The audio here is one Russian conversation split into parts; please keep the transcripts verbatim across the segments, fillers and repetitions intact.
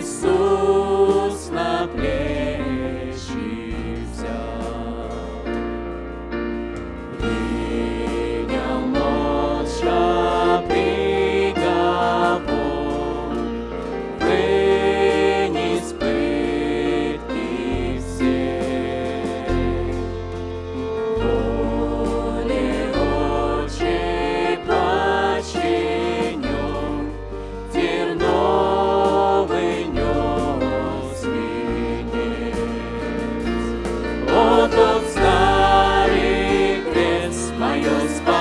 Иисус на плечи взял, принял молча приговор, вынес пытки все. Воле Отчей подчинен, терновый нес венец. О, тот старый крест, мое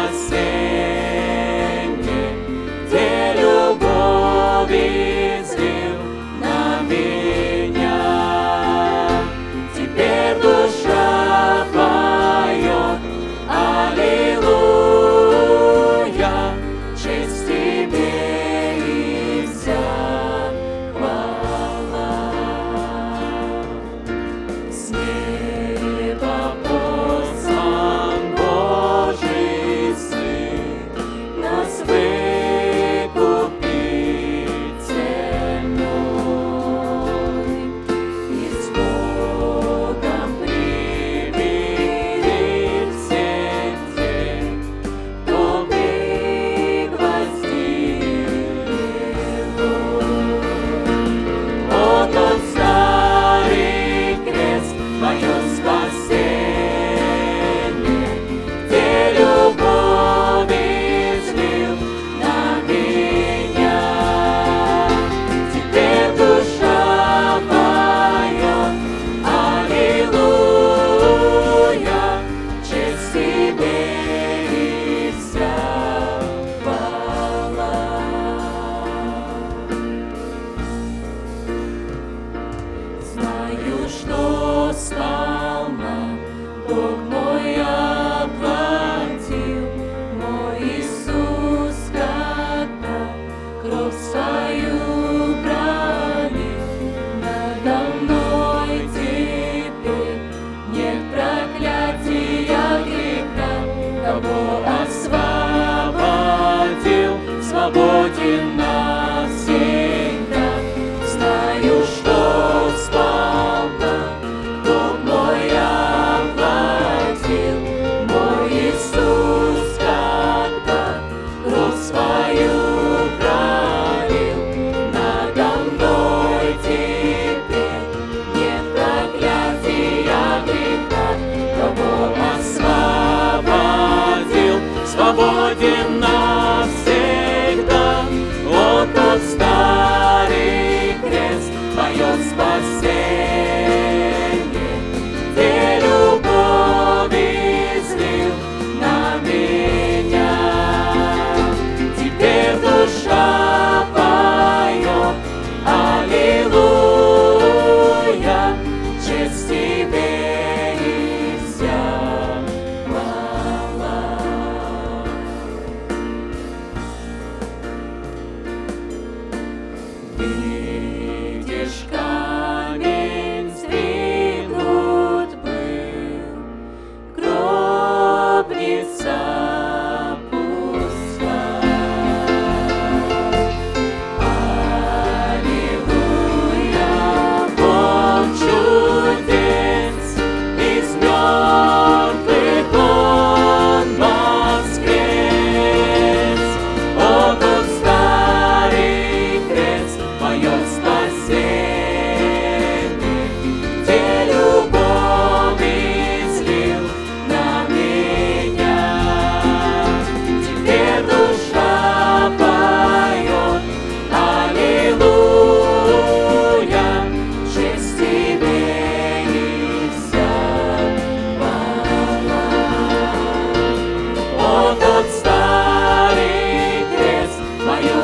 спасенье, где любовь излил на меня. Теперь душа поет: аллилуйя, честь тебе и вся хвала. С неба послан Божий Сын, нас выкупить ценой, и с Богом примирить всех тех, кто пригвоздил его. О, тот старый крест, мое спасенье, где любовь излил на меня. Теперь душа поет: аллилуйя, честь тебе и вся хвала. Знаю, что сполна Бог мой оплатил, мой Иисус, когда кровь свою пролил. Надо мной теперь нет проклятия греха, кого освободил, свободен навсегда. Знаю, что сполна Бог мой оплатил, мой Иисус, когда кровь свою пролил. Надо мной теперь нет проклятия греха, кого освободил, свободен навсегда. О, тот старый крест, мое спасенье, где любовь излил на меня. Теперь душа поет: аллилуйя, честь тебе и вся хвала. Видишь, камень сдвинут был, гробница пуста. Аллилуйя, Бог чудес, из мертвых Он воскрес. О, тот старый крест, мое спасенье, где любовь излил на меня. Теперь душа поет: аллилуйя, честь тебе и вся хвала. О, тот старый крест, мое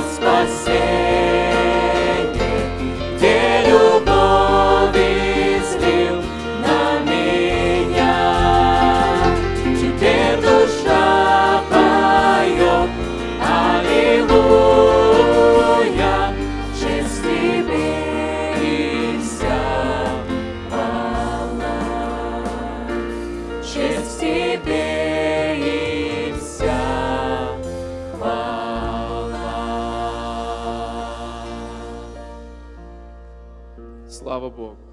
спасенье, где любовь излил на меня. Теперь душа поет: аллилуйя, честь тебе и вся хвала. Честь тебе и вся хвала. Слава Богу.